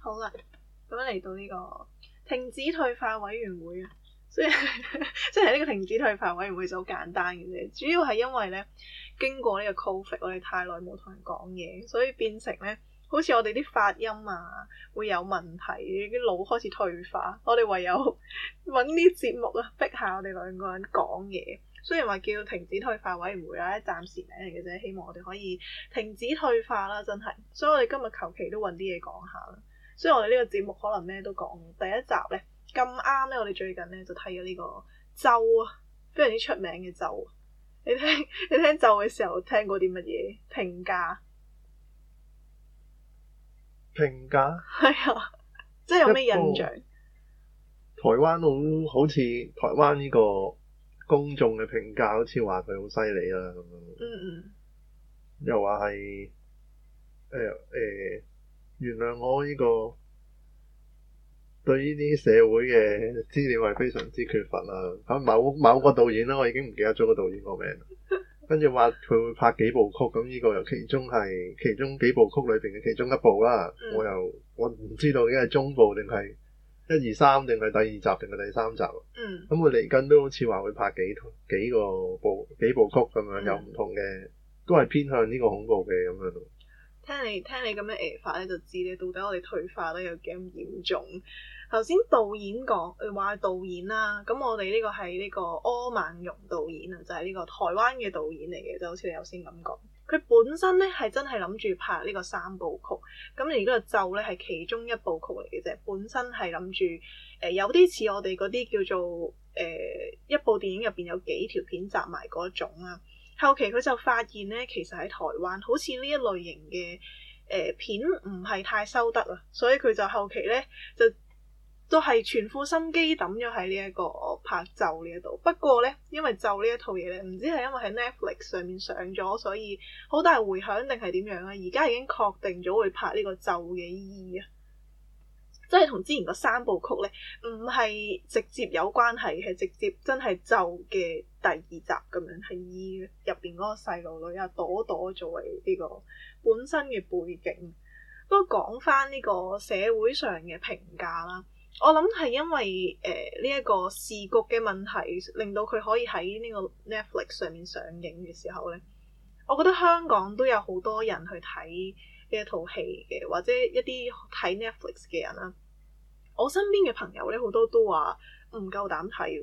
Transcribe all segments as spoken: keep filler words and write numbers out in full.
好啦，咁樣嚟到呢個停止退化委員會啊，所以即係呢個停止退化委員會就好簡單嘅啫，主要係因為咧經過呢個 Covid，我哋太耐冇同人講嘢，所以變成咧好似我哋啲發音啊會有問題，啲腦開始退化，我哋唯有揾啲節目啊逼下我哋兩個人講嘢。雖然話叫停止退化委員會啦，暫時名嚟嘅啫，希望我哋可以停止退化啦，真係。所以我哋今日求其都揾啲嘢講下啦。所以我哋呢個節目可能咩都講。第一集咧咁啱咧，我哋最近咧就睇咗呢個咒啊，非常之出名嘅咒。你聽你聽咒嘅時候聽過啲乜嘢評價？ 評價係啊，即係有咩印象？ 台灣好好似台灣呢個公眾嘅評價好似話佢好犀利啦咁樣，嗯嗯，又話係誒誒原諒我呢個對呢啲社會嘅資料係非常之缺乏啦。咁某某個導演啦，我已經唔記得咗個導演個名，跟住話佢會拍幾部曲，咁呢個又其中係其中幾部曲裏邊嘅其中一部啦。嗯、我又我唔知道已經係中部定係一二三定係第二集定係第三集，嗯，咁佢嚟緊都好似話會拍幾幾個部幾部曲咁樣，嗯、有唔同嘅，都係偏向呢個恐怖嘅咁樣咯。 聽你聽你咁樣誒法咧，就知你到底我哋退化得有幾咁嚴重。頭先導演講話導演啦，咁我哋呢個係呢個柯孟融導演啊，就係、是、呢個台灣嘅導演嚟嘅，就好似你頭先咁講。佢本身咧係真係諗住拍呢個三部曲，咁而呢個咒咧係其中一部曲嚟嘅啫。本身係諗住誒有啲似我哋嗰啲叫做誒、呃、一部電影入邊有幾條片集埋嗰種啊。後期佢就發現咧，其實喺台灣好似呢一類型嘅誒、呃、片唔係太收得啊，所以佢就後期咧就都係全副心機抌咗喺呢一個拍咒呢一度。不過咧，因為咒呢一套嘢咧，唔知係因為喺 Netflix 上面上咗，所以好大迴響定係點樣啊？而家已經確定咗會拍呢個咒嘅意義啊！即係同之前嗰三部曲咧，唔係直接有關係，係直接真係咒嘅第二集咁樣，係以入邊嗰個細路女啊朵朵作為呢個本身嘅背景。不過講翻呢個社會上嘅評價啦。我諗係因為誒呢一個視覺嘅問題，令到佢可以喺呢個 Netflix 上面上映嘅時候咧，我覺得香港都有好多人去睇呢一套戲嘅，或者一啲睇 Netflix 嘅人啦。我身邊嘅朋友咧，好多都話唔夠膽睇。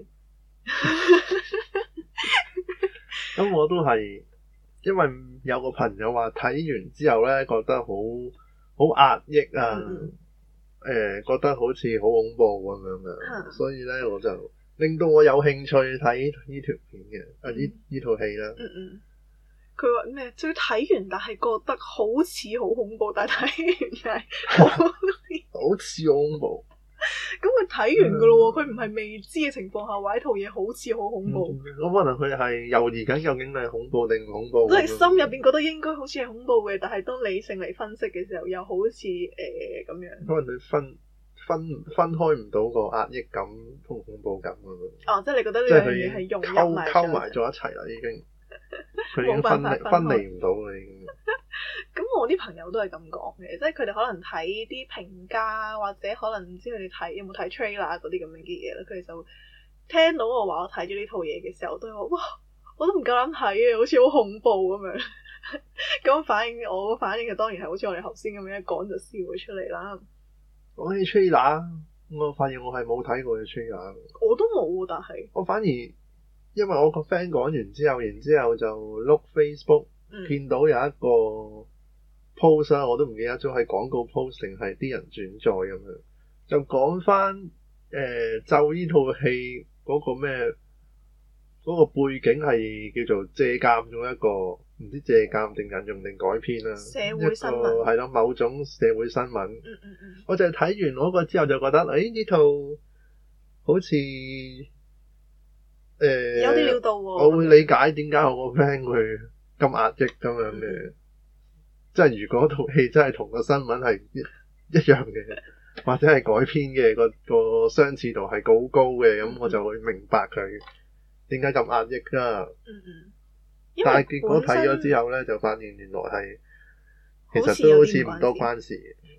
咁我都係，因為有個朋友話睇完之後咧，覺得好好壓抑啊。嗯誒、呃，覺得好似好恐怖咁樣嘅，嗯、所以咧我就令到我有興趣睇呢條片嘅，嗯、啊呢呢套戲啦。嗯嗯。 佢話咩？最睇完但係覺得好似好恐怖，但係睇完係好似好恐怖。 咁佢睇完噶咯喎，佢唔係未知嘅情況下話呢套嘢好似好恐怖。 咁、嗯、可能佢係猶豫緊究竟係恐怖定唔恐怖。 即係心入邊覺得應該好似係恐怖嘅，但係當理性嚟分析嘅時候，又好似誒咁樣。 可能你分分分開唔到個壓抑感同恐怖感咁樣。 哦，即係你覺得呢樣嘢係融入埋溝埋咗一齊啦，已經。佢已經分離分離唔到啦，已經。 咁我啲朋友都係咁講嘅，即係佢哋可能睇啲評價，或者可能唔知佢哋睇有冇睇 trailer 嗰啲咁樣嘅嘢啦，佢哋就聽到我話我睇咗呢套嘢嘅時候，都話哇，我都唔夠膽睇啊，好似好恐怖咁樣。咁反應我個反應就當然係好似我哋頭先咁樣一講就笑咗出嚟啦。 講起 trailer，我發現我係冇睇過嘅 trailer。 我都冇，但係我反而因為我個 friend 講完之後，然之後就碌 Facebook、嗯、見到有一個 post 啦，我都唔記得咗係廣告 post 定係啲人轉載咁樣，就講翻誒咒呢套戲嗰個咩嗰、嗰個背景係叫做借鑑咗一個唔知借鑑定引用定改編啦， 社會新聞係咯，某種社會新聞。嗯嗯嗯，我就係睇完嗰個之後就覺得，誒呢套好似誒、呃、 有啲料到喎。 我會理解點解我個 friend 會咁壓抑咁樣嘅，即係、嗯、如果套戲真係同個新聞係一一樣嘅，或者係改編嘅個個相似度係好高嘅，咁、嗯、我就會明白佢點解咁壓抑啦。嗯嗯。但係結果睇咗之後咧，就發現原來係其實都好似唔多關事。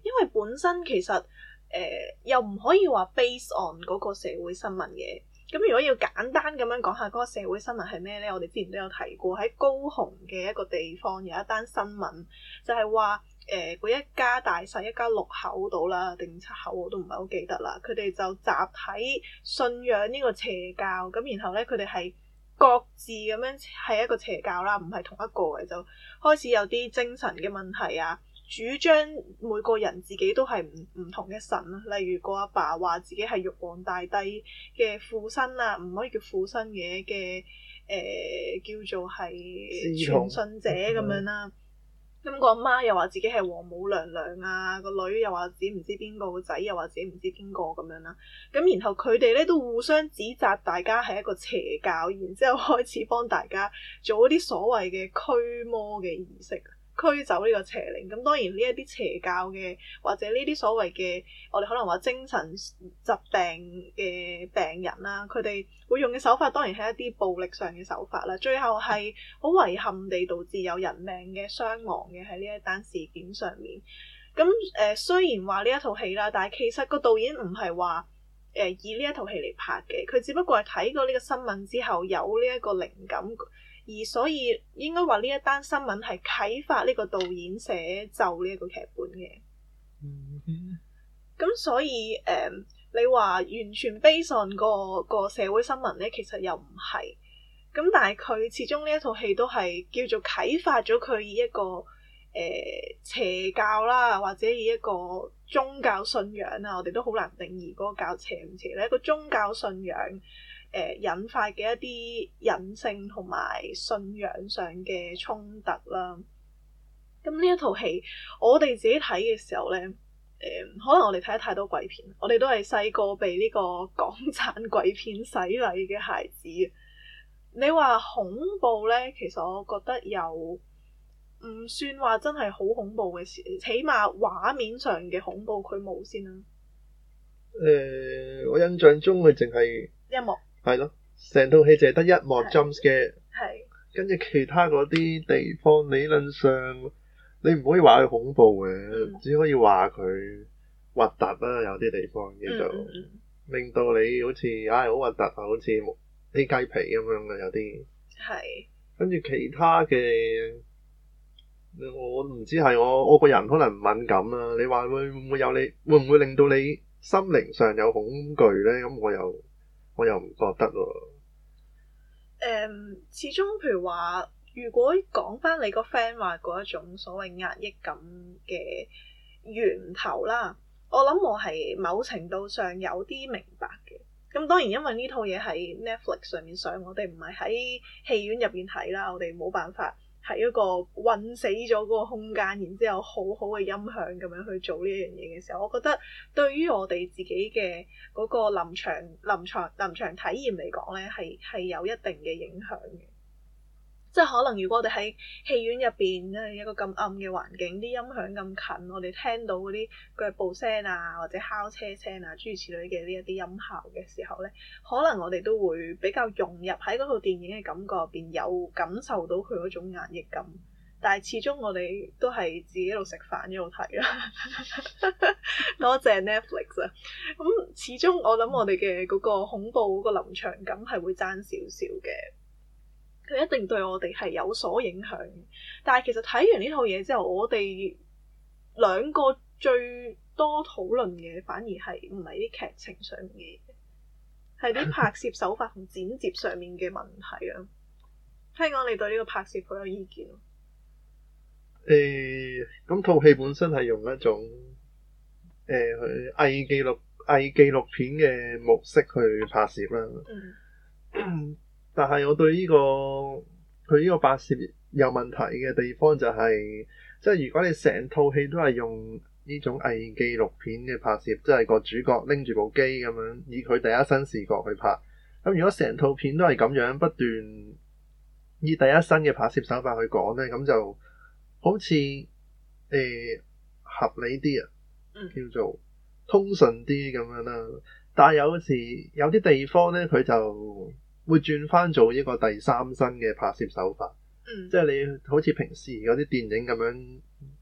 因為本身其實誒、呃、又唔可以話 base on 嗰個社會新聞嘅。咁如果要簡單咁樣講下嗰個社會新聞係咩咧？我哋之前都有提過，喺高雄嘅一個地方有一單新聞，就係話誒嗰一家大細一家六口到啦，定七口我都唔係好記得啦。佢哋就集體信仰呢個邪教，咁然後咧佢哋係各自咁樣係一個邪教啦，唔係同一個嘅，就開始有啲精神嘅問題啊。主張每個人自己都係唔唔同嘅神啦，例如個阿爸話自己係玉皇大帝嘅附身啊，唔可以叫附身嘅嘅誒叫做係傳信者咁樣啦。咁個阿媽又話自己係王母娘娘啊，個女又話自己唔知邊個，個仔又話自己唔知邊個咁樣啦。咁然後佢哋咧都互相指責大家係一個邪教，然之後開始幫大家做一啲所謂嘅驅魔嘅儀式。驅走呢個邪靈，咁當然呢一啲邪教嘅或者呢啲所謂嘅我哋可能話精神疾病嘅病人啦，佢哋會用嘅手法當然係一啲暴力上嘅手法啦，最後係好遺憾地導致有人命嘅傷亡嘅喺呢一單事件上面。咁誒、呃、雖然話呢一套戲啦，但係其實個導演唔係話誒以呢一套戲嚟拍嘅，佢只不過係睇過呢個新聞之後有呢一個靈感。而所以應該話呢一單新聞係啟發呢個導演寫就呢一個劇本嘅。咁、mm-hmm. 所以誒、呃，你話完全 based on 個個社會新聞咧，其實又唔係。咁但係佢始終呢一套戲都係叫做啟發咗佢以一個誒、呃、邪教啦，或者以一個宗教信仰啊，我哋都好難定義嗰個教邪唔邪咧，一個宗教信仰。誒、呃、引發嘅一啲隱性同埋信仰上嘅衝突啦。咁呢一套戲，我哋自己睇嘅時候咧，誒、呃、可能我哋睇得太多鬼片，我哋都係細個被呢個港產鬼片洗禮嘅孩子。你話恐怖咧，其實我覺得又唔算話真係好恐怖嘅事，起碼畫面上嘅恐怖佢冇先啦。 誒、呃，我印象中佢淨係一幕。 係咯，成套戲淨係得一幕 jump scare，跟住其他嗰啲地方理論上你唔可以話佢恐怖嘅，嗯、只可以話佢核突啦。有啲地方叫做、嗯嗯、令到你好似唉好核突啊，好似啲雞皮咁樣嘅有啲。係。跟住其他嘅，我唔知係我我個人可能唔敏感啦。你話會唔會有你會唔會令到你心靈上有恐懼咧？咁我又。我又唔覺得喎。 誒，始終譬如話，如果講翻你個 friend 話嗰一種所謂壓抑感嘅源頭啦，我諗我係某程度上有啲明白嘅。咁當然因為呢套嘢喺 Netflix 上面上，我哋唔係喺戲院入邊睇啦，我哋冇辦法喺一個困死咗嗰個空間，然之後好好嘅音響咁樣去做呢一樣嘢嘅時候，我覺得對於我哋自己嘅嗰個臨場臨場臨場體驗嚟講咧，係係有一定嘅影響嘅。即係可能如果我哋喺戲院入邊咧，一個咁暗嘅環境，啲音響咁近，我哋聽到嗰啲腳步聲啊，或者敲車聲啊，諸如此類嘅呢一啲音效嘅時候咧，可能我哋都會比較融入喺嗰套電影嘅感覺入邊，有感受到佢嗰種壓抑感。但係始終我哋都係自己一路食飯一路睇啦。多謝 Netflix 啊！咁始終我諗我哋嘅嗰個恐怖嗰個臨場感係會爭少少嘅。佢一定對我哋係有所影響嘅，但係其實睇完呢套嘢之後，我哋兩個最多討論嘅反而係唔係啲劇情上面嘅嘢，係啲拍攝手法同剪接上面嘅問題啊。聽講你對呢個拍攝好有意見咯？ 誒、欸，咁套戲本身係用一種誒去偽紀錄偽紀錄片嘅模式去拍攝啦。嗯。但係我對呢、這個佢呢個拍攝有問題嘅地方就係、是，即係如果你成套戲都係用呢種偽紀錄片嘅拍攝，即係個主角拎住部機咁樣，以佢第一身視角去拍。咁如果成套片都係咁樣不斷以第一身嘅拍攝手法去講呢，咁就好似誒、呃、合理啲啊，叫做通順啲咁樣啦。但係有時有啲地方呢，佢就會轉翻做一個第三身嘅拍攝手法，嗯、即係你好似平時嗰啲電影咁樣，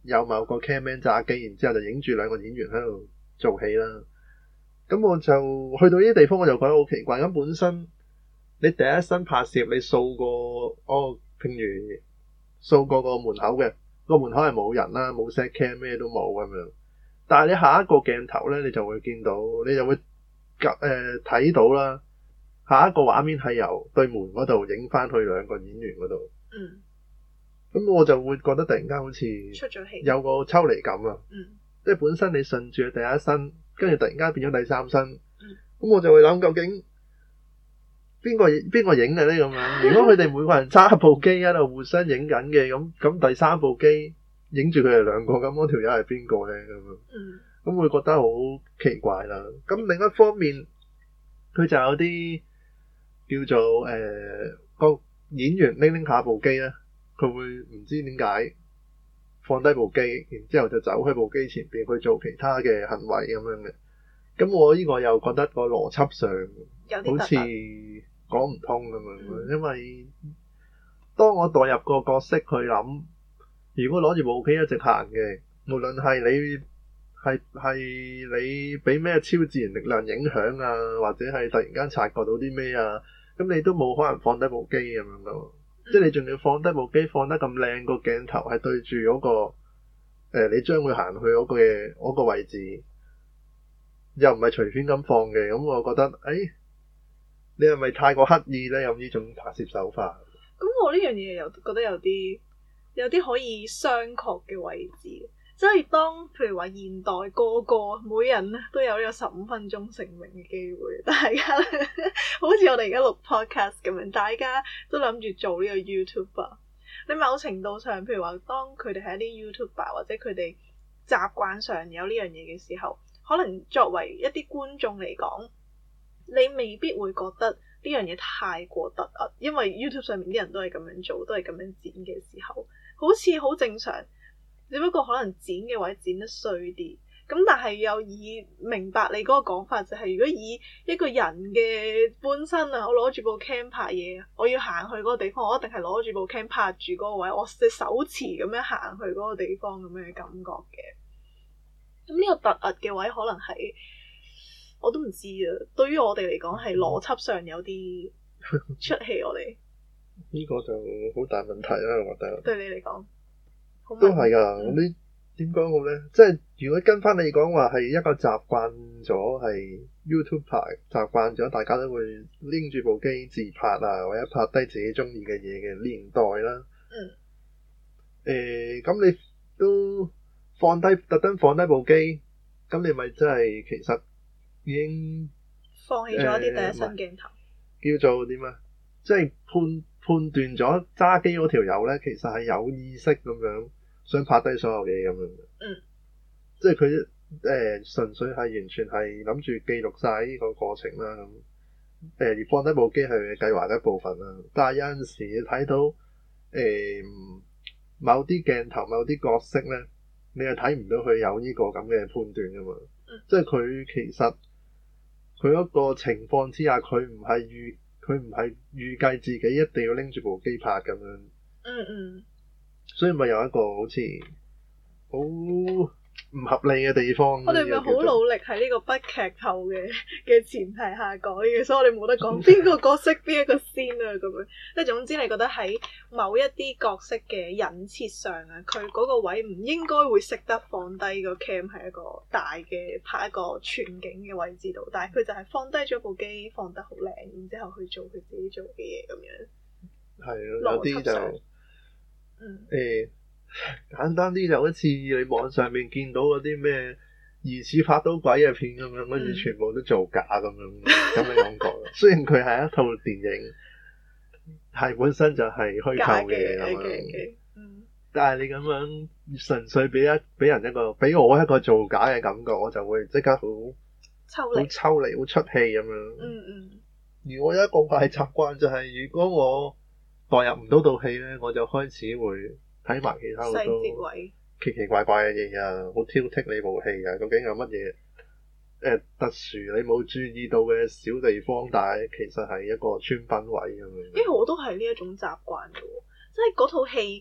有某個 camman 揸機，然之後就影住兩個演員喺度做戲啦。咁我就去到呢啲地方，我就覺得好奇怪。咁本身你第一身拍攝，你掃過哦，譬如掃過個門口嘅，個門口係冇人啦，冇 set cam 咩都冇咁樣。但係你下一個鏡頭咧，你就會見到，你就會誒睇到啦。下一個畫面係由對門嗰度影翻去兩個演員嗰度。 嗯。咁我就會覺得突然間好似出咗戲， 有個抽離感啊。 嗯。即係本身你順住第一身，跟住突然間變咗第三身。 嗯。咁我就會諗究竟邊個邊個影嘅咧咁樣？如果佢哋每個人揸部機喺度互相影緊嘅，咁咁第三部機影住佢哋兩個，咁嗰條友係邊個咧咁樣？ 嗯。咁會覺得好奇怪啦。咁另一方面，佢就有啲。叫做誒、呃、個演員拎拎下部機咧，佢會唔知點解放低部機，然之後就走喺部機前邊去做其他嘅行為咁樣嘅。咁我呢個又覺得個邏輯上好似講唔通咁樣，嗯、因為當我代入個角色去諗，如果攞住部機一直行嘅，無論係你係係你俾咩超自然力量影響啊，或者係突然間察覺到啲咩啊，咁你都冇可能放低部機咁樣咯。嗯、即係你仲要放低部機，放得咁靚個鏡頭係對住嗰、嗰個誒、呃，你將會行去嗰個嘅嗰個位置，又唔係隨便咁放嘅。咁我覺得，誒、哎，你係咪太過刻意咧？有呢種拍攝手法？ 咁我呢樣嘢又覺得有啲有啲可以商榷嘅位置。即係當譬如話現代個個每人咧都有呢個十五分鐘成名嘅機會，大家咧好似我哋而家錄 podcast 咁樣，大家都諗住做呢個 YouTuber。你某程度上，譬如話當佢哋係一啲 YouTuber 或者佢哋習慣上有呢樣嘢嘅時候，可能作為一啲觀眾嚟講，你未必會覺得呢樣嘢太過突兀，因為 YouTube 上面啲人都係咁樣做，都係咁樣剪嘅時候，好似好正常。只不過可能剪嘅位剪得衰啲，咁但係又以明白你嗰個講法，就係如果以一個人嘅本身啊，我攞住部 cam 拍嘢，我要行去嗰個地方，我一定係攞住部 cam 拍住嗰個位，我隻手持咁樣行去嗰個地方咁樣嘅感覺嘅。咁呢個突兀嘅位可能係我都唔知啊。對於我哋嚟講係邏輯上有啲出戲，我哋呢個就好大問題啦，我覺得。對你嚟講。 都係噶，嗯、你點講好咧？即係如果跟翻你講話係一個習慣咗係 YouTube 拍，習慣咗大家都會拎住部機自拍啊，或者拍低自己中意嘅嘢嘅年代啦。嗯。誒、呃，咁你都放低特登放低部機，咁你咪真係其實已經放棄咗一啲第一身鏡頭。 呃、叫做點啊？即係判判斷咗揸機嗰條友咧，其實係有意識咁樣想拍低所有嘢咁樣嘅。嗯。即係佢誒純粹係完全係諗住記錄晒呢個過程啦。咁誒而放低部機係佢計劃嘅一部分啦。但係有陣時你睇到誒、呃、某啲鏡頭、某啲角色咧，你係睇唔到佢有呢個咁嘅判斷噶嘛。嗯。即係佢其實佢嗰個情況之下，佢唔係預。佢唔係預計自己一定要拎住部機拍咁樣，嗯嗯，所以咪有一個好似好唔合理嘅地方。 我哋咪好努力喺呢個不劇透嘅嘅前提下講嘅，所以我哋冇得講邊個角色邊一個先啊咁樣。即係總之，你覺得喺某一啲角色嘅人設上啊，佢嗰個位唔應該會識得放低個 cam 喺一個大嘅拍一個全景嘅位置度，但係佢就係放低咗部機，放得好靚，然之後去做佢自己做嘅嘢咁樣。係咯，有啲就嗯誒。欸簡單啲就好似你網上面見到嗰啲咩疑似拍到鬼嘅片咁樣，跟住全部都造假咁樣咁嘅感覺。雖然佢係一套電影，係本身就係虛構嘅嘢咁樣，okay, okay. 嗯、但係你咁樣純粹俾一俾人一個俾我一個造假嘅感覺，我就會即刻好抽離好抽離好出戲咁樣。嗯嗯。而我有一個壞習慣就係、是，如果我代入唔到套戲咧，我就開始會。睇埋其他好多奇奇怪怪嘅嘢啊，好挑剔你部戲啊，究竟有乜嘢誒特殊你冇注意到嘅小地方，但係其實係一個穿崩位咁樣。因為我都係呢一種習慣嘅喎，即係嗰套戲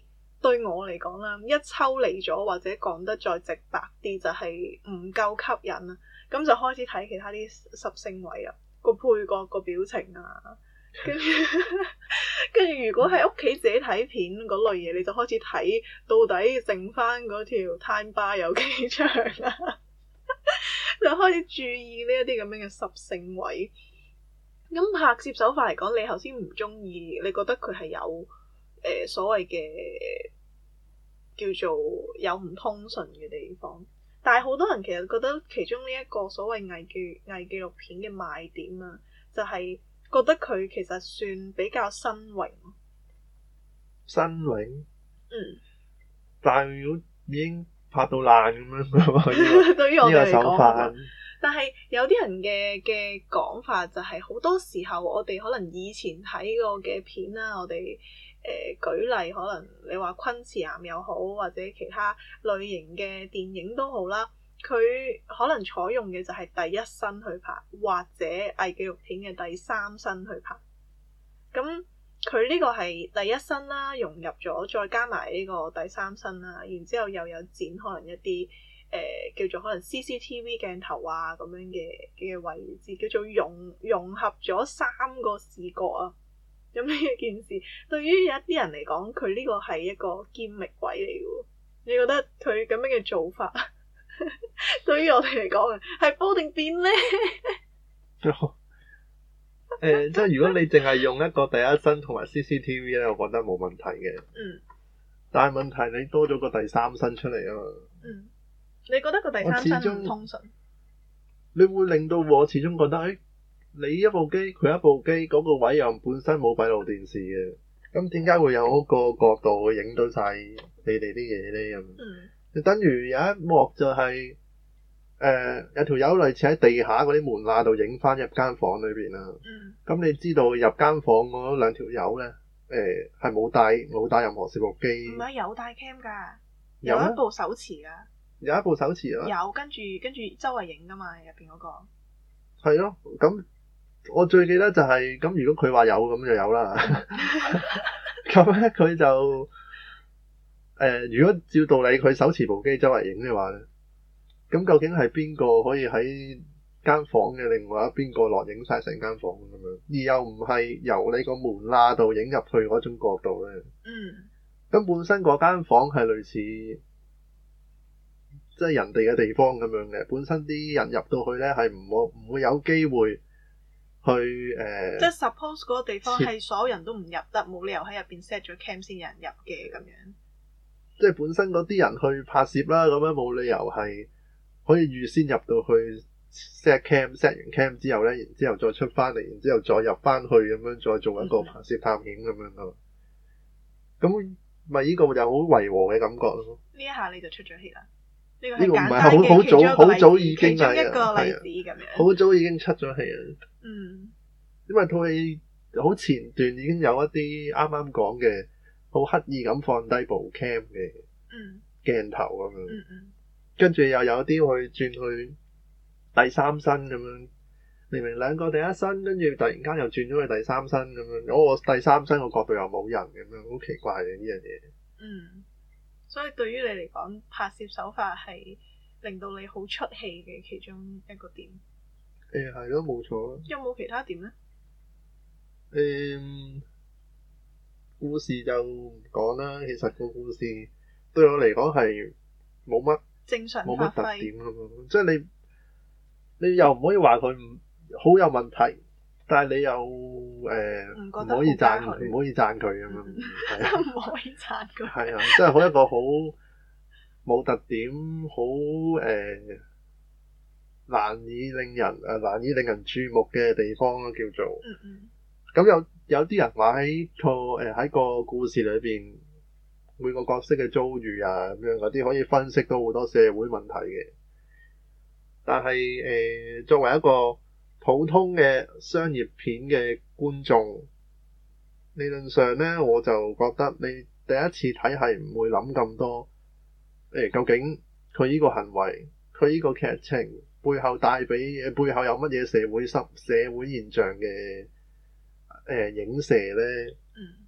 對我嚟講啦，一抽離咗或者講得再直白啲，就係唔夠吸引啦。咁就開始睇其他啲十星位啊，個配角個表情啊，跟住跟住如果喺屋企自己睇片嗰類嘢，你就開始睇到底剩翻嗰條 time bar 有幾長啦，就開始注意呢一啲咁樣嘅十星位。咁拍攝手法嚟講，你頭先唔中意，你覺得佢係有誒、呃、所謂嘅叫做有唔通順嘅地方，但係好多人其實覺得其中呢一個所謂偽紀偽紀錄片嘅賣點啊，就係、是、覺得佢其實算比較新穎。 新穎？ 嗯。 但係如果已經拍到爛咁樣，對於我哋嚟講。 但係有啲人嘅嘅講法就係好多時候我哋可能以前睇過嘅片啦，我哋誒、呃、舉例可能你話昆池岩又好，或者其他類型嘅電影都好啦，佢可能採用嘅就係第一身去拍，或者偽紀錄片嘅第三身去拍。咁佢呢個係第一身啦，融入咗，再加埋呢個第三身啦，然之後又有剪可能一啲。誒、呃、叫做可能 C C T V 鏡頭啊咁樣嘅嘅位置，叫做融融合咗三個視覺啊，咁呢一件事對於有一啲人嚟講，佢呢個係一個堅力位嚟嘅。你覺得佢咁樣嘅做法對於我哋嚟講係煲定變咧？ 誒、呃，即係如果你淨係用一個第一身同埋 C C T V 咧，我覺得冇問題嘅。嗯。但係問題你多咗個第三身出嚟啊嘛。嗯。 你覺得個第三身唔通順？ 你會令到我始終覺得，誒、哎，你一部機，佢一部機，嗰、那個位又本身冇閉路電視嘅，咁點解會有嗰個角度去影到晒你哋啲嘢咧？咁、嗯，就等於有一幕就係、是，誒、呃，有條友類似喺地下嗰啲門罅度影翻入間房裏邊啦。咁、嗯、你知道入間房嗰兩條友咧，誒、呃，係冇帶冇帶任何攝錄機。唔係有帶 cam 噶，有一部手持噶。有一部手持啊，有跟住跟住周圍影噶嘛，入邊嗰個係咯。咁我最記得就係、是、咁，如果佢話有咁就有啦。咁咧佢就誒、呃，如果照道理佢手持部機周圍影嘅話咧，咁究竟係邊個可以喺間房嘅另外一邊個落影晒成間房咁樣，而又唔係由你個門罅度影入去嗰種角度咧？嗯，咁本身嗰間房係類似。即係人哋嘅地方咁樣嘅，本身啲人入到去咧係唔會唔會有機會去誒。呃、即係 suppose 嗰個地方係所有人都唔入得，冇理由喺入邊 set 咗 cam 先有人入嘅咁樣。即係本身嗰啲人去拍攝啦，咁樣冇理由係可以預先入到去 set cam，set 完 cam 之後咧，然之後再出翻嚟，然之後再入翻去咁樣，再做一個拍攝探險咁樣咯。咁咪呢個就好違和嘅感覺咯。呢一下你就出咗氣啦。呢個唔係好好早好早已經係一個例子咁樣，好早已經出咗戲啦。嗯，因為套戲好前段已經有一啲啱啱講嘅好刻意咁放低部 cam 嘅鏡頭咁樣，嗯嗯，跟住又有啲去轉去第三身咁樣，明明兩個第一身，跟住突然間又轉咗去第三身咁樣，嗰個第三身個角度又冇人咁樣，好奇怪嘅呢樣嘢。嗯。所以對於你嚟講，拍攝手法係令到你好出戲嘅其中一個點。誒係咯，冇錯。有冇其他點咧？誒、嗯，故事就唔講啦。其實個故事對我嚟講係冇乜正常，冇乜特點咁樣。即係你你又唔可以話佢唔好有問題。但係你又誒唔、呃、可以讚唔可以讚佢咁樣，係啊，唔可以讚佢，係啊，即係好一個好冇特點，好誒、呃、難以令人誒、呃、難以令人注目嘅地方咯，叫做。嗯嗯。咁有有啲人話喺個誒喺個故事裏邊每個角色嘅遭遇啊咁樣嗰啲可以分析到好多社會問題嘅，但係誒、呃、作為一個普通嘅商業片嘅觀眾，理論上咧，我就覺得你第一次睇係唔會諗咁多，誒、欸，究竟佢呢個行為，佢呢個劇情背後帶俾誒背後有乜嘢社會濕社會現象嘅誒、呃、影射咧？嗯，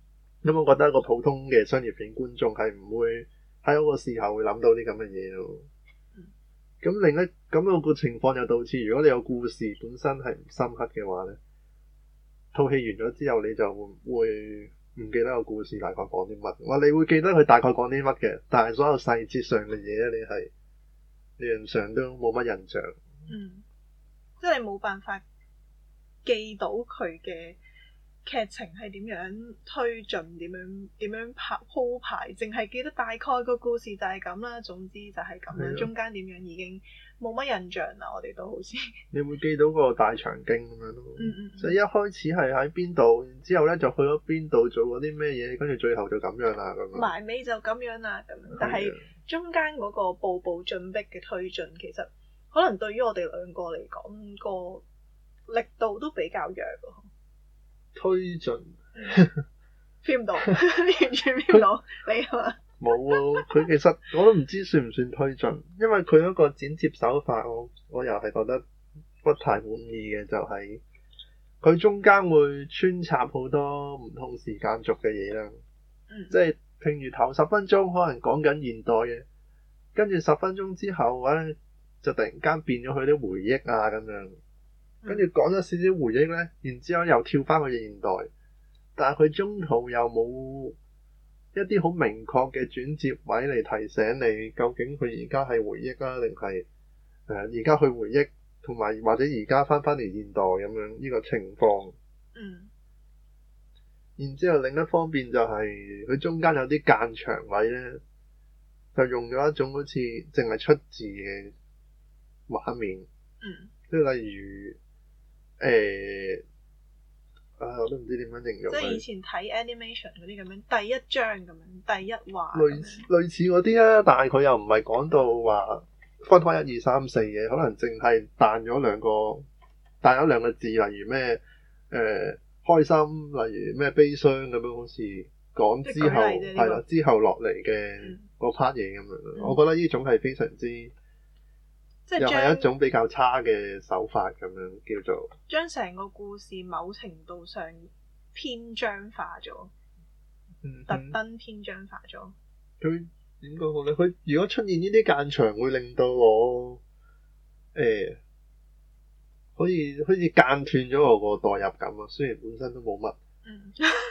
咁我覺得一個普通嘅商業片觀眾係唔會喺嗰個時候會諗到啲咁嘅嘢咯。咁、嗯、另一咁樣個情況又導致，如果你有故事本身係唔深刻嘅話咧，套戲完咗之後你就會唔記得個故事大概講啲乜。哇，你會記得佢大概講啲乜嘅，但係所有細節上嘅嘢咧，你係理論上都冇乜印象。 嗯，即係你冇辦法記到佢嘅劇情係點樣推進，點樣點樣拍鋪排，淨係記得大概個故事就係咁啦。總之就係咁啦，的中間點樣已經冇乜印象啦。我哋都好似你會記到個大長今咁樣咯， 嗯嗯， 即係一開始係喺邊度，然之後咧就去咗邊度做嗰啲咩嘢，跟住最後就咁樣啦咁。 埋尾就咁樣啦咁，但係中間嗰個步步進逼嘅推進，其實可能對於我哋兩個嚟講個力度都比較弱咯。 推進 feel 唔到，完全 feel 唔到你係嘛？ 冇啊！佢其實我都唔知算唔算推進，因為佢嗰個剪接手法，我我又係覺得不太滿意嘅，就係、是、佢中間會穿插好多唔同時間軸嘅嘢啦。嗯、即係譬如頭十分鐘可能講緊現代嘅，跟住十分鐘之後咧就突然間變咗佢啲回憶啊咁樣。跟住講咗少少回憶呢，然之後又跳翻去現代，但係佢中途又冇一啲好明確嘅轉接位嚟提醒你，究竟佢而家係回憶啊，定係誒而家去回憶，同埋或者而家翻翻嚟現代咁樣呢個情況。 嗯。 然之後另一方面就係、是、佢中間有啲間場位呢，就用咗一種好似淨係出字嘅畫面。 嗯。 即係例如。誒、欸，啊，我都唔知點樣形容。即係以前睇 animation 嗰啲咁樣，第一章咁樣，第一話。 類似類似嗰啲啊，但係佢又唔係講到話分開一二三四嘅，可能淨係彈咗兩個，彈咗兩個字，例如咩誒、呃、開心，例如咩悲傷咁樣，好似講之後係啦，之後落嚟嘅嗰 part 嘢咁樣。嗯、我覺得呢種係非常之。即係又係一種比較差嘅手法咁樣，叫做將成個故事某程度上篇章化咗，嗯、哼特登篇章化咗。 佢點講好咧？佢如果出現呢啲間場，會令到我誒、欸，好似好似間斷咗我個代入感啊！雖然本身都冇乜，嗯，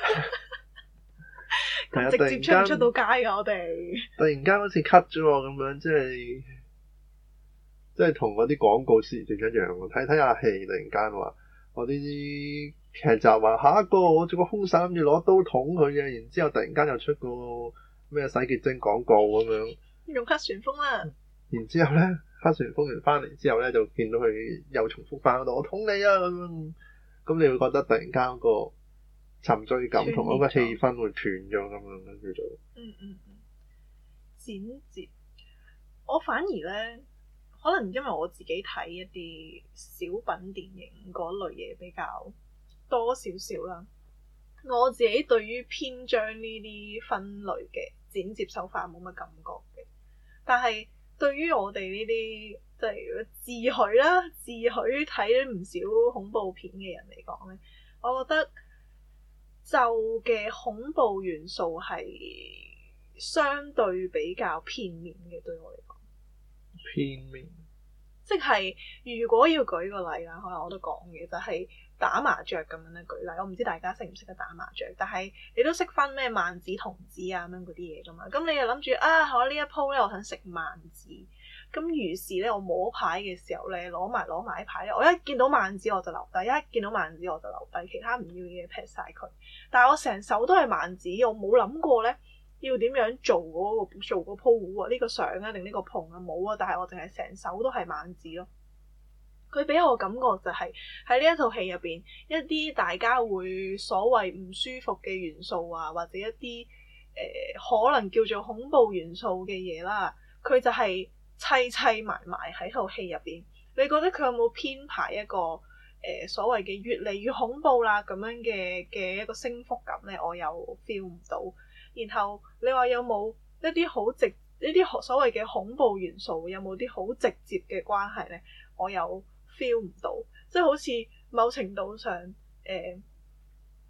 咁直接出唔出到街噶？我哋突然間好似 cut 咗我咁樣，即係。即係同嗰啲廣告時段一樣，睇睇下戲，突然間話我呢啲劇集話下一個我做個兇手諗住攞刀捅佢嘅，然之後突然間又出個咩洗潔精廣告咁樣， 用黑旋風啦。 然之後咧，黑旋風完翻嚟之後咧，就見到佢又重複翻嗰度，我捅你啊咁樣，咁你會覺得突然間嗰個沉醉感同嗰個氣氛會斷咗咁樣嘅叫做。 嗯嗯嗯，剪接，我反而咧。可能因為我自己睇一啲小品電影嗰類嘢比較多少少啦，我自己對於篇章呢啲分類嘅剪接手法冇乜感覺嘅。但係對於我哋呢啲即係自詡啦，自詡睇咗唔少恐怖片嘅人嚟講咧，我覺得就嘅恐怖元素係相對比較片面嘅，對我嚟講。 片面， 即係如果要舉個例啦，可能我都講嘅就係、是、打麻雀咁樣咧舉例，我唔知大家識唔識得打麻雀，但係你都識分咩萬子同子啊咁樣嗰啲嘢噶嘛，咁你又諗住啊，我呢一鋪咧我想食萬子，咁於是咧我摸牌嘅時候咧攞埋攞埋啲牌咧，我一見到萬子我就留低，一見到萬子我就留低，其他唔要嘅嘢劈晒佢，但係我成手都係萬子，我冇諗過咧。要點樣做嗰、那個做個鋪糊啊？呢、這個相啊，定呢個碰啊冇啊！但係我淨係成手都係萬字咯。佢俾我感覺就係喺呢一套戲入邊，一啲大家會所謂唔舒服嘅元素啊，或者一啲誒、呃、可能叫做恐怖元素嘅嘢啦，佢就係砌砌埋埋喺套戲入邊。你覺得佢有冇編排一個誒、呃、所謂嘅越嚟越恐怖啦咁樣嘅嘅一個升幅感咧？我又 feel 唔到。然後你話有冇一啲好直呢啲所謂嘅恐怖元素，有冇啲好直接嘅關係呢？我又 feel 唔到，即係好似某程度上誒、呃，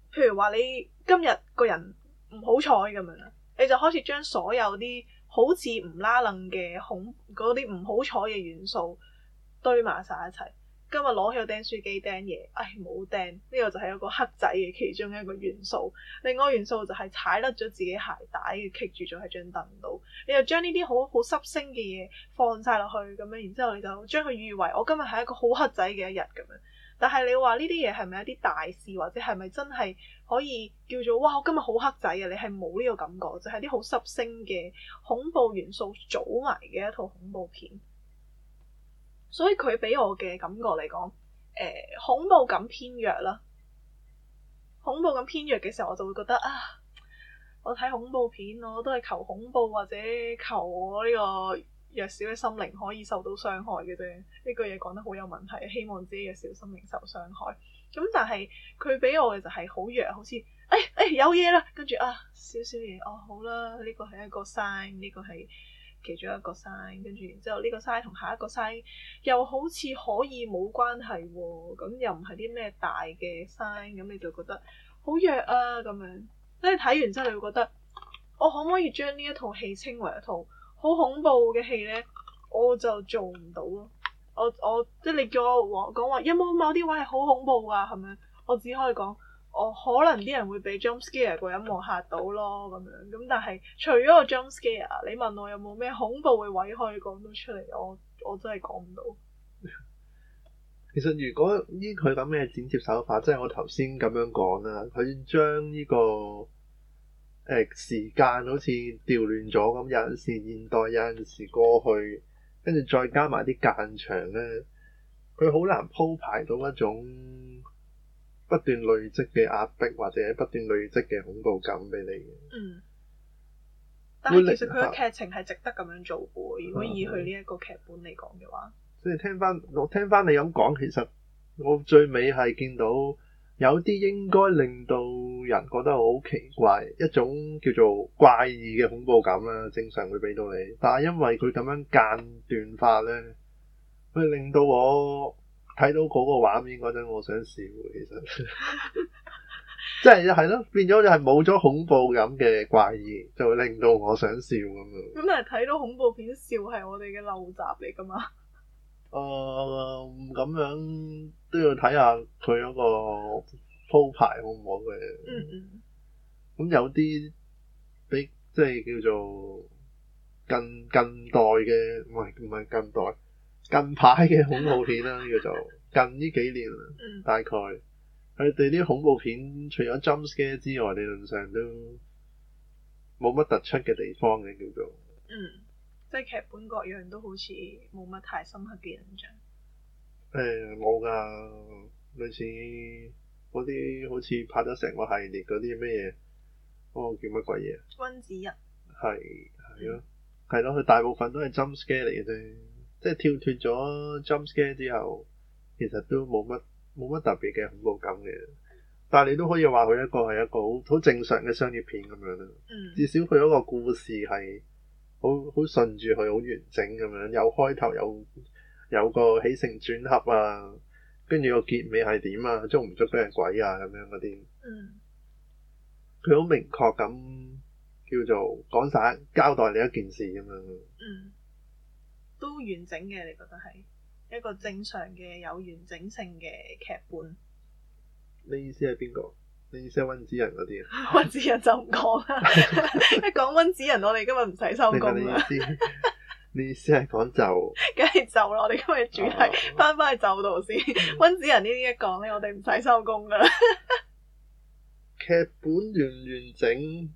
譬如話你今日個人唔好彩咁樣啦，你就開始將所有啲好似唔拉楞嘅恐嗰啲唔好彩嘅元素堆埋晒一齊。今日攞起個釘書機釘嘢，唉冇釘，呢、這個就係一個黑仔嘅其中一個元素。另外元素就係踩甩咗自己鞋帶，棘住咗喺張凳度。你就將呢啲好好濕星嘅嘢放晒落去咁樣，然之後你就將佢譽為我今日係一個好黑仔嘅一日咁樣。但係你話呢啲嘢係咪一啲大事，或者係咪真係可以叫做哇我今日好黑仔啊？你係冇呢個感覺，就係啲好濕星嘅恐怖元素組埋嘅一套恐怖片。所以佢俾我嘅感覺嚟講，誒、呃、恐怖感偏弱啦。恐怖感偏弱嘅時候，我就會覺得啊，我睇恐怖片我都係求恐怖或者求我呢個弱小嘅心靈可以受到傷害嘅啫。呢句嘢講得好有問題，希望自己嘅小心靈受傷害。咁但係佢俾我嘅就係好弱，好似誒誒有嘢啦，跟住啊少少嘢哦好啦，呢個係一個 sign，呢個係其中一個 sign， 跟住然之後呢個 sign 同下一個 sign 又好似可以冇關係喎，咁又唔係啲咩大嘅 sign，咁你就覺得好弱啊咁樣。即係睇完之後你會覺得，我可唔可以將呢一套戲稱為一套好恐怖嘅戲呢？我就做唔到咯。我我即係你叫我講話有冇某啲位係好恐怖㗎？係咪？我只可以講。我、哦、可能啲人會俾 jump scare 個一幕嚇到咯咁樣，咁但係除咗個 jump scare，你問我有冇咩恐怖嘅位可以講到出嚟，我我真係講唔到。 其實如果依佢咁嘅剪接手法，即係我頭先咁樣講啦，佢將呢個誒、呃、時間好似調亂咗咁，有陣時現代，有陣時過去，跟住再加埋啲間場咧，佢好難鋪排到一種不斷累積嘅壓迫，或者不斷累積嘅恐怖感俾你嘅。嗯。但係其實佢嘅劇情係值得咁樣做嘅。如果以佢呢一個劇本嚟講嘅話，即係聽翻我聽翻你咁講，其實我最尾係見到有啲應該令到人覺得好奇怪，一種叫做怪異嘅恐怖感啦，正常會俾到你。但係因為佢咁樣間斷法咧，佢令到我睇到嗰個畫面嗰陣，我想笑。其實即係係咯，變咗就係冇咗恐怖感嘅怪異，就會令到我想笑咁樣。咁但係睇到恐怖片笑係我哋嘅陋習嚟噶嘛？誒、呃，咁樣都要睇下佢嗰個鋪排好唔好嘅。嗯嗯。咁有啲比即係叫做近近代嘅，唔係唔係近代。近排嘅恐怖片啦，叫做近呢幾年啦，嗯、大概佢哋啲恐怖片除咗 jump scare 之外，理論上都冇乜突出嘅地方嘅，叫做嗯，即係劇本各樣都好似冇乜太深刻嘅印象。誒冇㗎，類似嗰啲好似拍咗成個系列嗰啲咩嘢，嗰個叫乜鬼嘢？溫子仁係係咯，係咯，佢大部分都係 jump scare 嚟嘅啫。即係跳脫咗 jump scare 之後，其實都冇乜冇乜特別嘅恐怖感嘅。但係你都可以話佢一個係一個好好正常嘅商業片咁樣啦。嗯、至少佢嗰個故事係好好順住佢，好完整咁樣，有開頭有有個起承轉合啊，跟住個結尾係點啊，捉唔捉俾人鬼啊咁樣嗰啲。佢好、嗯、明確咁叫做講晒交代你一件事咁樣。嗯都完整嘅，你覺得係一個正常嘅有完整性嘅劇本？你意思係邊個？你意思係溫子仁嗰啲啊？溫子仁就唔講啦，一講溫子仁，我哋今日唔使收工啦。你意思係講就？梗係就啦，我哋今日主題翻返去就度先。溫子仁呢啲一講咧，我哋唔使收工噶啦。劇本完唔完整？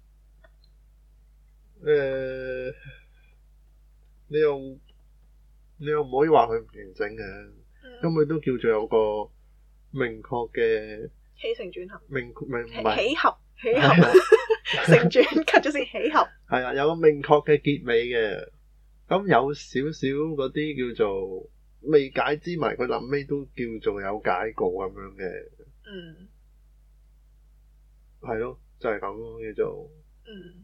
誒、呃。你又你又唔可以話佢唔完整嘅，咁佢、嗯、都叫做有個明確嘅起承轉合，明明唔係起合起合承轉 cut 咗先起合，係啊，有個明確嘅結尾嘅，咁有少少嗰啲叫做未解之謎，佢臨尾都叫做有解過咁樣嘅，嗯，係咯，就係咁咯，叫做嗯，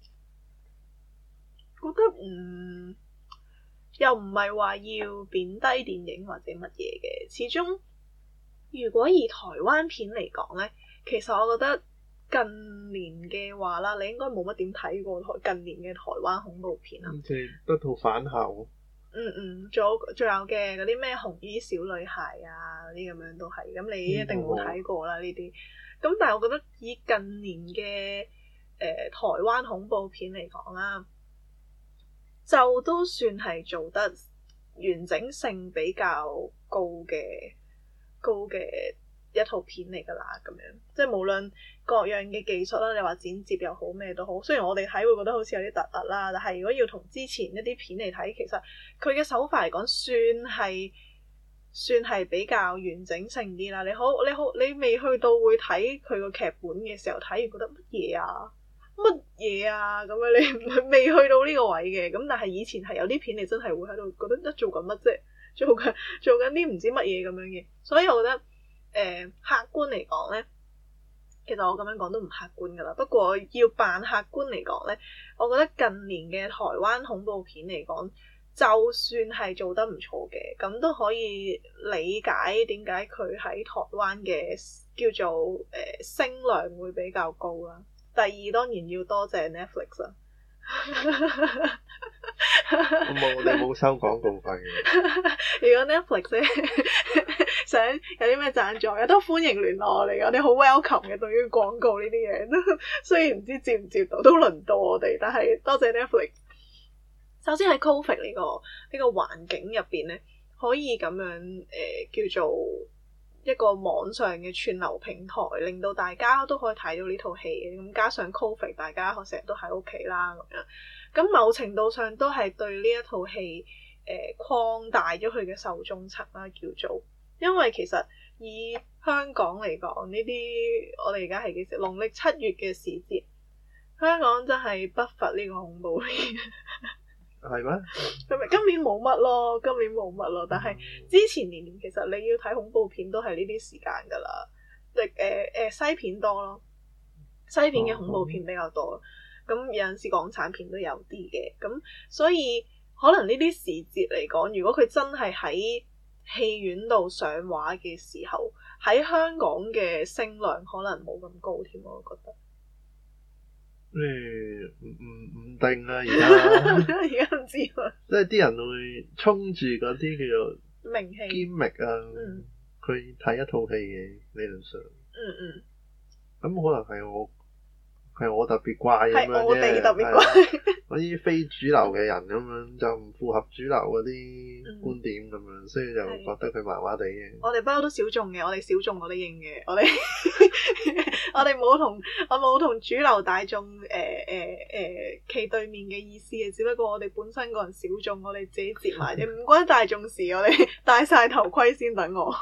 覺得嗯。又唔係話要貶低電影或者乜嘢嘅，始終如果以台灣片嚟講呢， 其實我覺得近年嘅話啦，你應該冇乜點睇過台近年嘅台灣恐怖片啊。 即係得套返校。 嗯嗯，仲有仲有嘅嗰啲咩紅衣小女孩啊，嗰啲咁樣都係，咁你一定冇睇過啦呢啲。咁、嗯、但係我覺得以近年嘅誒、呃、台灣恐怖片嚟講啦，就都算係做得完整性比較高嘅高嘅一套片嚟㗎啦，咁樣即係無論各樣嘅技術啦，你話剪接又好咩都好，雖然我哋睇會覺得好似有啲突兀啦，但係如果要同之前一啲片嚟睇，其實佢嘅手法嚟講算係算係比較完整性啲啦。你好你好你未去到會睇佢個劇本嘅時候，睇完覺得乜嘢啊乜嘢啊咁樣，你未去到呢個位嘅。咁但係以前係有啲片你真係會喺度覺得一做緊乜啫，做緊做緊啲唔知乜嘢咁樣嘅，所以我覺得。誒、呃、客觀嚟講咧，其實我咁樣講都唔客觀噶啦。不過要扮客觀嚟講咧，我覺得近年嘅台灣恐怖片嚟講，就算係做得唔錯嘅，咁都可以理解點解佢喺台灣嘅叫做誒、呃、聲量會比較高啦。第二當然要多謝 Netflix 啦。 我冇，我哋冇收廣告費嘅。 如果 Netflix 咧想有啲咩贊助嘅，都歡迎聯絡我哋。我哋好 welcome 嘅，對於廣告呢啲嘢，雖然唔知接唔接到，都輪到我哋。但係多謝 Netflix。首先喺 Covid 呢個呢個環境入邊咧，可以咁樣誒、呃、叫做一個網上嘅串流平台，令到大家都可以睇到呢套戲嘅。咁加上 Covid， 大家成日都喺屋企啦，咁樣。咁某程度上都係對呢一套戲誒擴大咗佢嘅受眾層啦，叫做。因為其實以香港嚟講，呢啲我哋而家係幾時？農曆七月嘅時節，香港真係不乏呢個恐怖片。 係咩？ 咁今年冇乜咯，今年冇乜咯。但係之前年年其實你要睇恐怖片都係呢啲時間㗎啦。誒誒誒西片多咯，西片嘅恐怖片比較多。咁有陣時港產片都有啲嘅，咁所以可能呢啲時節嚟講，如果佢真係喺戲院度上畫嘅時候，喺香港嘅聲量可能冇咁高添，我覺得。 誒唔唔唔定啊！而家而家唔知喎。即係啲人會衝住嗰啲叫做名氣、 gimmick 啊， 嗯， 佢睇一套戲嘅理論上。 嗯嗯。 咁可能係我。係我特別怪咁樣啫， 我哋特別怪。 嗰啲非主流嘅人咁樣就唔符合主流嗰啲觀點咁樣，嗯、所以就覺得佢麻麻地嘅。 我哋不嬲都小眾嘅，我哋小眾我哋認嘅，我哋我哋冇同我冇同主流大眾誒誒誒企對面嘅意思嘅，只不過我哋本身個人小眾，我哋自己接埋啫，唔關大眾事。我哋戴晒頭盔先等我。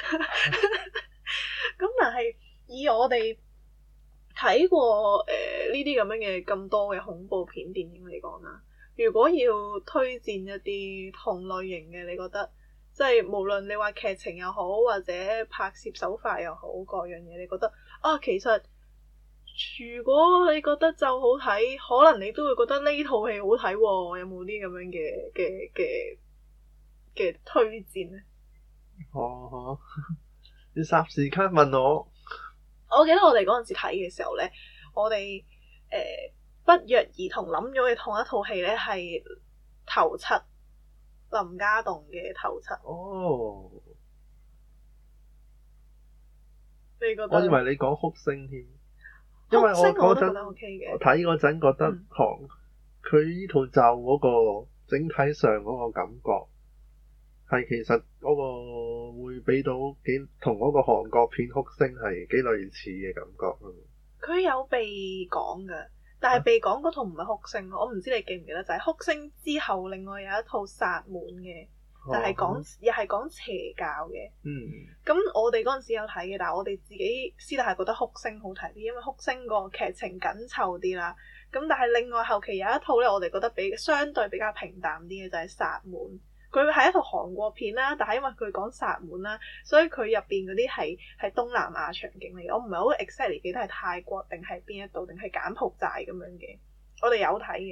咁但係以我哋睇過誒呢啲咁樣嘅咁多嘅恐怖片電影嚟講啦，如果要推薦一啲同類型嘅，你覺得即係無論你話劇情又好，或者拍攝手法又好，各樣嘢，你覺得啊，其實如果你覺得就好睇，可能你都會覺得呢套戲好睇喎，有冇啲咁樣嘅嘅嘅嘅推薦咧？ 哦哦，你霎時間問我。 我記得我哋嗰陣時睇嘅時候咧，我哋誒、呃、不約而同諗咗嘅同一套戲咧係頭七，林家棟嘅頭七。 哦， 你覺得？ 我以為你講哭聲添，因為我嗰陣我睇嗰陣覺得韓佢呢套就嗰個整體上嗰個感覺。係其實嗰個會俾到幾同嗰個韓國片哭聲係幾類似嘅感覺。 佢有被講嘅，但係被講嗰套唔係哭聲，我唔知你記唔記得，就係、是、哭聲之後，另外有一套殺門嘅，就係、是、講、哦、又係講邪教嘅。嗯。咁我哋嗰陣時有睇嘅，但係我哋自己私底下覺得哭聲好睇啲，因為哭聲個劇情緊湊啲啦。咁但係另外後期有一套咧，我哋覺得比相對比較平淡啲嘅就係殺門。佢係一套韓國片啦，但係因為佢講殺門啦，所以佢入邊嗰啲係係東南亞場景嚟嘅。我唔係好 exactly 記得係泰國定係邊一度定係柬埔寨咁樣嘅。我哋有睇嘅，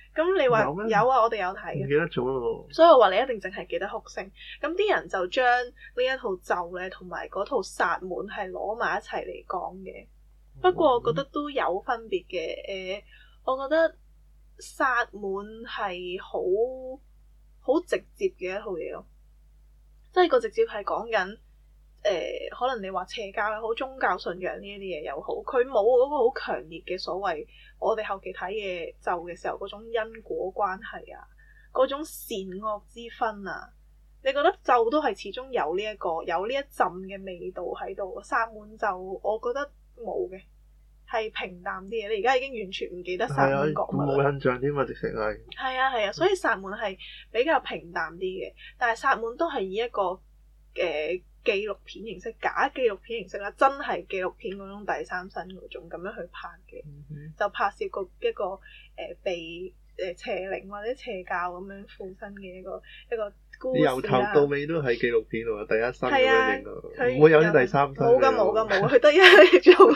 咁你話有，有啊，我哋有睇嘅。 唔記得咗咯。 所以我話你一定淨係記得哭聲。咁啲人就將呢一套咒咧，同埋嗰套薩滿係攞埋一齊嚟講嘅。不過我覺得都有分別嘅。誒、呃，我覺得薩滿係好好直接嘅一套嘢咯。即係個直接係講緊誒，可能你話邪教又好，宗教信仰呢一啲嘢又好，佢冇嗰個好強烈嘅所謂。我哋後期睇嘅咒嘅時候，嗰種因果關係啊，嗰種善惡之分啊，你覺得咒都係始終有呢、這、一個有呢一陣嘅味道喺度。薩滿咒我覺得冇嘅，係平淡啲嘅。你而家已經完全唔記得薩滿講乜啦， 冇印象添嘛，直情係。係啊係啊，所以薩滿係比較平淡啲嘅，但係薩滿都係以一個誒。呃紀錄片形式，假紀錄片形式啦，真係紀錄片嗰種第三身嗰種咁樣去拍嘅，嗯、哼就拍攝個一個誒、呃、被誒、呃、邪靈或者邪教咁樣附身嘅一個一個故事啦。由頭到尾都係紀錄片喎，第一身咁樣影㗎，唔會有啲第三身。冇㗎冇㗎冇，佢得一嚟做。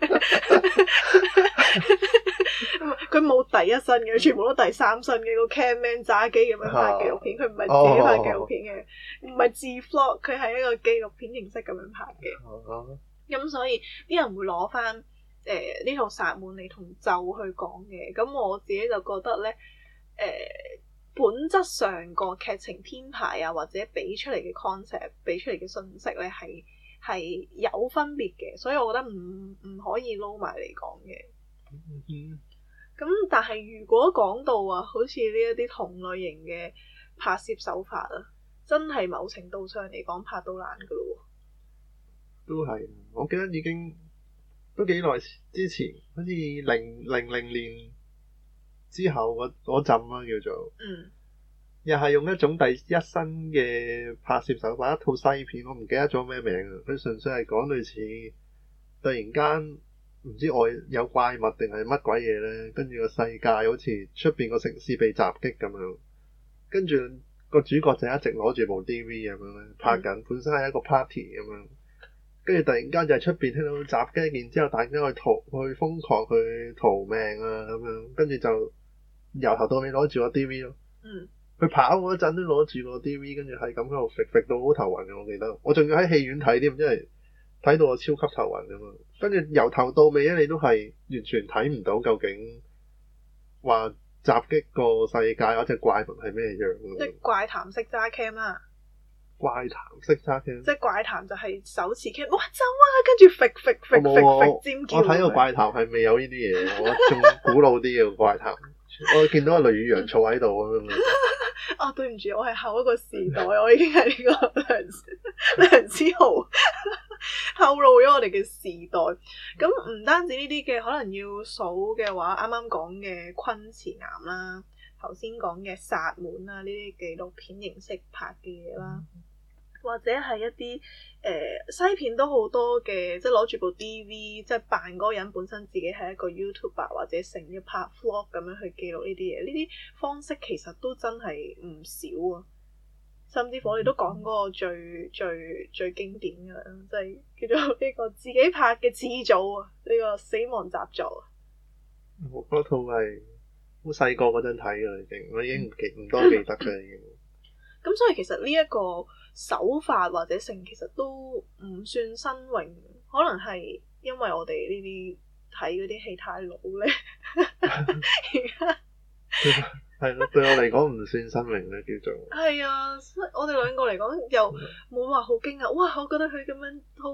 佢冇第一身嘅，全部都第三身嘅，個 camman 揸機咁樣拍紀錄片，佢唔係自己拍紀錄片嘅，唔係、oh. 自 vlog，佢係一個紀錄片形式咁樣拍嘅。咁、oh. 所以啲人會攞翻誒呢套薩滿嚟同咒去講嘅。咁我自己就覺得咧，誒、呃、本質上個劇情編排啊，或者俾出嚟嘅 concept，俾出嚟嘅信息咧，係係有分別嘅。所以我覺得唔唔可以撈埋嚟講嘅。Mm-hmm. 咁但係如果講到啊，好似呢一啲同類型嘅拍攝手法啊，真係某程度上嚟講拍到爛噶咯。都係，我記得已經都幾耐之前，好似零零零年之後嗰嗰陣啦，叫做，嗯，又係用一種第一身嘅拍攝手法，一套西片，我唔記得咗咩名啊，佢純粹係講類似突然間。唔知外有怪物定係乜鬼嘢咧，跟住個世界好似出邊個城市被襲擊咁樣，跟住個主角就一直攞住部 D V 咁樣咧拍緊，本身係一個 party 咁樣，跟住突然間就係出邊聽到襲擊，然之後大家去逃去瘋狂去逃命啊咁樣，跟住就由頭到尾攞住個 D V 咯。嗯。佢跑嗰陣都攞住個 D V， 跟住係咁喺度揈揈到好頭暈嘅，我記得。我仲要喺戲院睇添，因為睇到我超級頭暈咁嘛，跟住由頭到尾咧，你都係完全睇唔到究竟話襲擊個世界嗰隻怪物係咩樣。即係怪談式揸 cam 啦，怪談式揸 cam，即係怪談就係手持 cam，哇走啊，跟住揈揈揈揈揈尖叫。我睇個怪談係未有呢啲嘢，我仲古老啲嘅怪談，我見到個雷雨陽坐喺度咁樣。啊、哦，對唔住，我係後一個時代，我已經係呢個梁梁思豪透露咗我哋嘅時代。咁唔單止呢啲嘅，可能要數嘅話，啱啱講嘅昆池岩啦，頭先講嘅薩滿啦，呢啲紀錄片形式拍嘅嘢啦，或者係一啲誒、呃、西片都好多嘅，即係攞住部 D V，即係扮嗰個人本身自己係一個 YouTuber 或者成日拍 vlog 咁樣去記錄呢啲嘢，呢啲方式其實都真係唔少啊！甚至乎我哋都講嗰個最最最經典嘅啦，即係叫做呢個自己拍嘅始祖啊，呢、呢個死亡習作啊！我嗰套係好細個嗰陣睇嘅，已經我已經唔記唔多記得嘅已經。咁所以其實呢一個手法或者性其實都唔算新穎，可能係因為我哋呢啲睇嗰啲戲太老咧。而家係咯，對我嚟講唔算新穎咧，叫做係啊。我哋兩個嚟講又冇話好驚訝，哇！我覺得佢咁樣好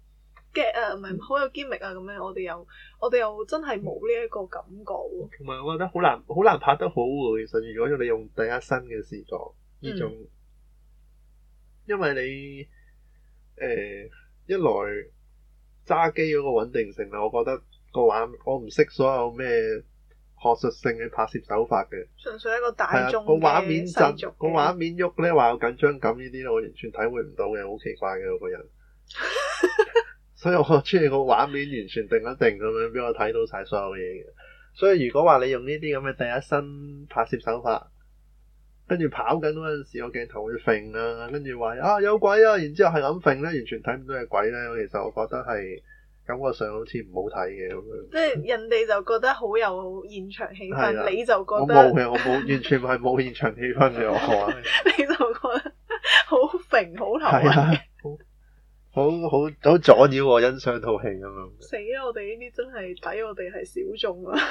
get 啊，唔係好有 gimmick 啊，咁樣我哋又我哋又真係冇呢一個感覺喎。同埋我覺得好難好難拍得好喎。其實如果你用第一身嘅視覺。呢種，嗯、因為你誒、呃、一來揸機嗰個穩定性啦，我覺得個畫我唔識所有咩學術性嘅拍攝手法嘅，純粹一個大眾嘅畫面震，個畫面喐咧話有緊張感呢啲咧，我完全體會唔到嘅，好奇怪嘅我個人。所以我中意個畫面完全定一定咁樣俾我睇到晒所有嘢嘅。所以如果話你用呢啲咁嘅第一身拍攝手法，跟住跑緊嗰陣時，個鏡頭會揈啊，跟住話啊有鬼啊，然之後係咁揈咧，完全睇唔到係鬼咧。其實我覺得係感覺上好似唔好睇嘅咁樣。 即係人哋就覺得好有現場氣氛，的你就覺得我冇嘅，我冇完全係冇現場氣氛嘅我話。 你就覺得好揈好頭係啊，好好好好阻擾我欣賞套戲咁樣。 死啦！我哋呢啲真係抵我哋係小眾啊。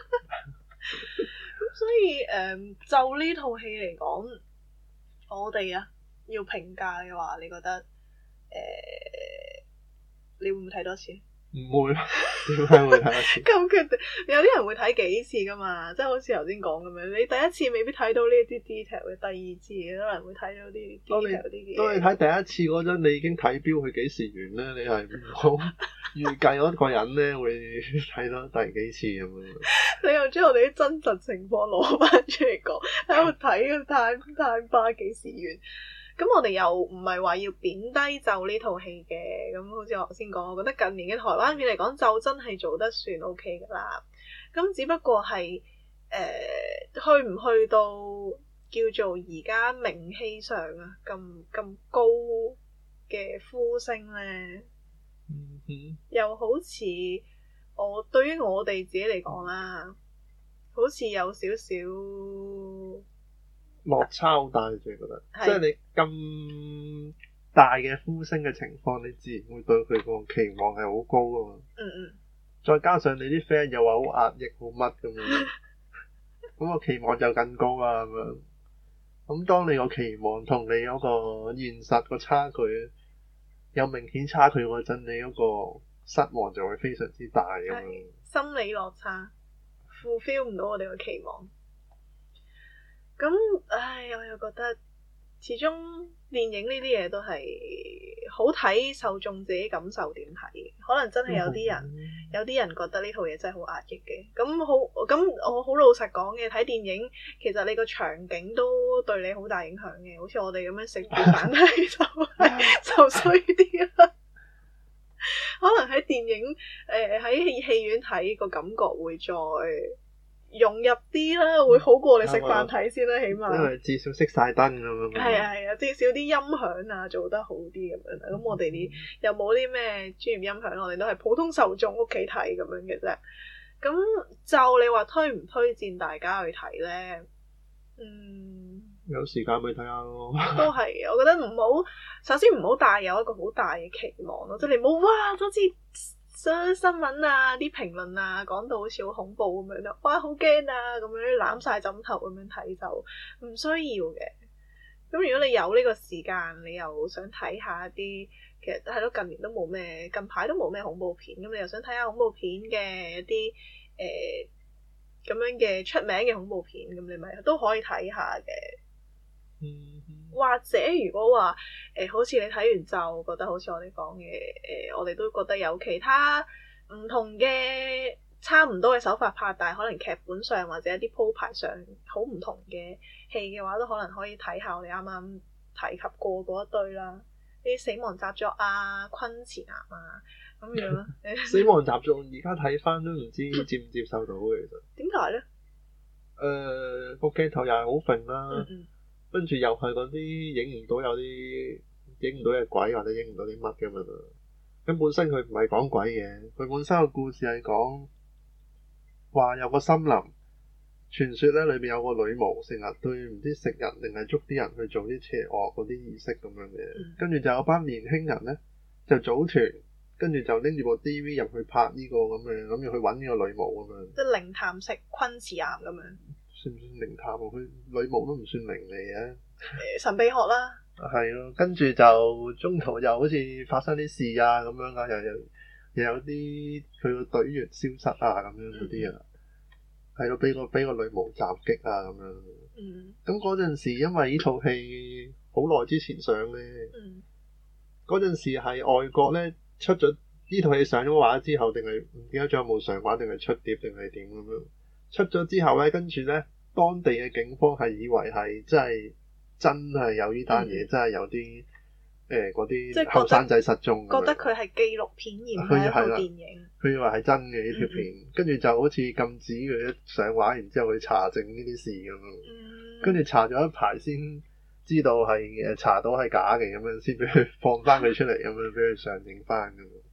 咁所以誒、嗯，就呢套戲嚟講，我哋啊要評價嘅話，你覺得誒、呃，你會唔會睇多次？ 唔會，點解會睇多次？ 咁決定，有啲人會睇幾次噶嘛，即係好似頭先講咁樣，你第一次未必睇到呢啲 detail 嘅，第二次可能會睇到啲 detail 啲嘅。 當你睇第一次嗰陣，你已經睇標佢幾時完咧，你係唔好預計嗰個人咧會睇到第幾次咁樣。 你又將我哋啲真實情況攞翻出嚟講，喺度睇個 time time bar 幾時完？咁我哋又唔係話要貶低就呢套戲嘅，咁好似我頭先講，我覺得近年嘅台灣片嚟講就真係做得算 OK 噶啦。咁只不過係誒、呃、去唔去到叫做而家名氣上啊咁咁高嘅呼聲咧，嗯哼，又好似我對於我哋自己嚟講啦，好似有少少落差好大，你自己覺得，是即係你咁大嘅呼聲嘅情況，你自然會對佢個期望係好高噶嘛。嗯嗯。再加上你啲 friend 又話好壓抑，好乜咁樣，咁個期望就更高啦咁樣。咁當你個期望同你嗰個現實個差距有明顯差距嗰陣，你嗰個失望就會非常之大咁樣。 心理落差 fulfill 唔到我哋個期望。咁，唉，我又覺得始終電影呢啲嘢都係好睇受眾自己感受點睇，可能真係有啲人，嗯、有啲人覺得呢套嘢真係好壓抑嘅。咁好，咁我好老實講嘅，睇電影其實你個場景都對你好大影響嘅。好似我哋咁樣食住飯睇就就衰啲啦。可能喺電影誒喺戲院睇個感覺會再融入啲啦，會好過你食飯睇先啦，起碼。因為至少熄晒燈咁樣。 係啊係啊，至少啲音響啊做得好啲咁樣啦。咁、嗯、我哋啲又冇啲咩專業音響，我哋都係普通受眾屋企睇咁樣嘅啫。咁就你話推唔推薦大家去睇咧？嗯，有時間咪睇下咯。 都係，我覺得唔好，首先唔好帶有一個好大嘅期望咯，即係你唔好哇，都知。新聞啊，啲評論啊，講到好似好恐怖咁樣咯，哇，好驚啊，咁樣攬晒枕頭咁樣睇就唔需要嘅。咁如果你有呢個時間，你又想睇下一啲，其實係咯，近年都冇咩，近排都冇咩恐怖片，咁你又想睇下恐怖片嘅一啲誒咁樣嘅出名嘅恐怖片，咁你咪都可以睇下嘅。嗯。或者如果話誒、呃，好似你睇完就覺得好似我哋講嘅誒，我哋都覺得有其他唔同嘅差唔多嘅手法拍，但係可能劇本上或者一啲鋪排上好唔同嘅戲嘅話，都可能可以睇下我哋啱啱提及過嗰一堆啦，啲死亡習作啊、昆池岩啊咁樣。 死亡習作而家睇翻都唔知接唔接受到嘅，其實點解咧？ 誒，個鏡頭又係好揈啦。嗯嗯，跟住又係嗰啲影唔到有啲影唔到嘅鬼或者影唔到啲乜嘅嘛，咁本身佢唔係講鬼嘅，佢本身個故事係講話有個森林，傳說咧裏邊有個女巫成日對唔知食人定係捉啲人去做啲邪惡嗰啲儀式咁樣嘅，跟住就有班年輕人咧就組團，跟住就拎住部 D V 入去拍呢個咁嘅，諗住去揾呢個女巫咁樣， 即係靈探式昆池岩咁樣。 算唔算靈探？佢女巫都唔算靈嚟嘅， 神秘學啦。 係咯，跟住就中途又好似發生啲事啊咁樣啊，又有又有啲佢個隊員消失啊咁樣嗰啲啊，係咯，俾個俾個女巫襲擊啊咁樣。嗯。咁嗰陣時，因為呢套戲好耐之前上咧，嗯，嗰陣時係外國咧出咗呢套戲上咗畫之後，定係唔記得仲有冇上畫，定係出碟，定係點咁樣？出咗之後咧，跟住咧，當地嘅警方係以為係真係真係有呢單嘢，嗯、真係有啲誒嗰啲後生仔失蹤， 覺得佢係紀錄片而唔係一套電影。 佢以為係真嘅呢條片，跟住、嗯嗯、就好似禁止佢一上畫，然之後去查證呢啲事咁樣。跟住、嗯、查咗一排先知道係誒查到係假嘅咁樣，先俾佢放翻佢出嚟咁樣，俾佢上映翻咁樣。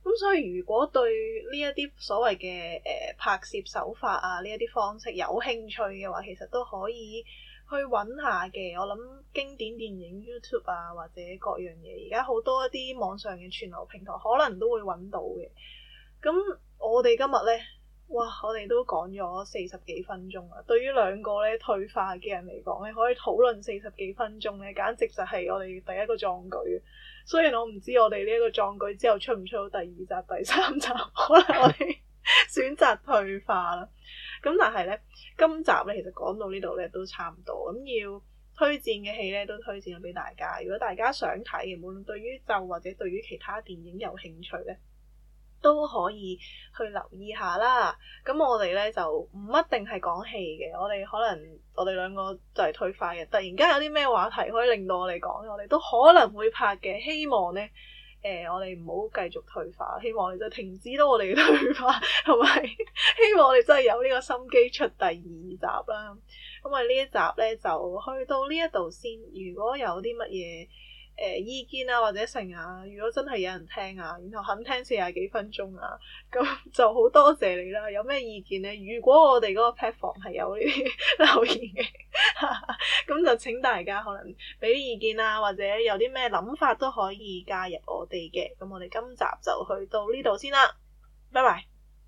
咁所以如果對呢一啲所謂嘅誒、呃、拍攝手法啊，呢一啲方式有興趣嘅話，其實都可以去揾下嘅。我諗經典電影 YouTube 啊，或者各樣嘢，而家好多一啲網上嘅串流平台，可能都會揾到嘅。咁我哋今日咧，哇！我哋都講咗四十幾分鐘啦。對於兩個咧退化嘅人嚟講咧，可以討論四十幾分鐘咧，簡直就係我哋第一個壯舉。雖然我唔知我哋呢一個壯舉之後出唔出到第二集、第三集，可能我哋選擇退化啦。咁但係咧，今集咧其實講到呢度咧都差唔多。咁要推薦嘅戲咧都推薦咗俾大家。如果大家想睇嘅，無論對於咒或者對於其他電影有興趣咧，都可以去留意下啦。咁我哋咧就唔一定係講戲嘅，我哋可能我哋兩個就係退化嘅。突然間有啲咩話題可以令到我哋講，我哋都可能會拍嘅。希望咧，誒、呃、我哋唔好繼續退化，希望我哋就停止到我哋嘅退化，同埋希望我哋真係有呢個心機出第二集啦。咁啊呢一集咧就去到呢一度先。如果有啲乜嘢誒、呃、意見啊或者成啊，如果真係有人聽啊，然後肯聽四十幾分鐘啊，咁就好多謝你啦。有咩意見咧？如果我哋嗰個 platform 係有呢啲留言嘅，咁就請大家可能俾啲意見啊，或者有啲咩諗法都可以加入我哋嘅。咁我哋今集就去到呢度先啦，拜拜。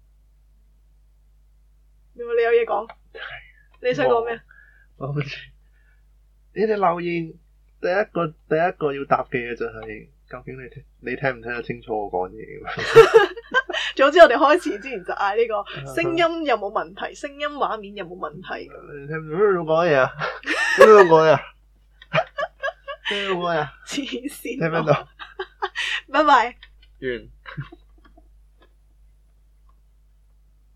你有嘢講？你想講咩？ 我好似你哋留言。第一個第一個要答嘅嘢就係、是，究竟你聽你聽唔聽得清楚我講嘢？ 總之我哋開始之前就嗌呢個聲音有冇問題，聲音畫面有冇問題？ 你聽唔聽到講嘢啊？聽唔聽到講嘢啊？聽唔聽到講嘢啊？ 黐線！ 聽唔聽到？ 拜拜。 完。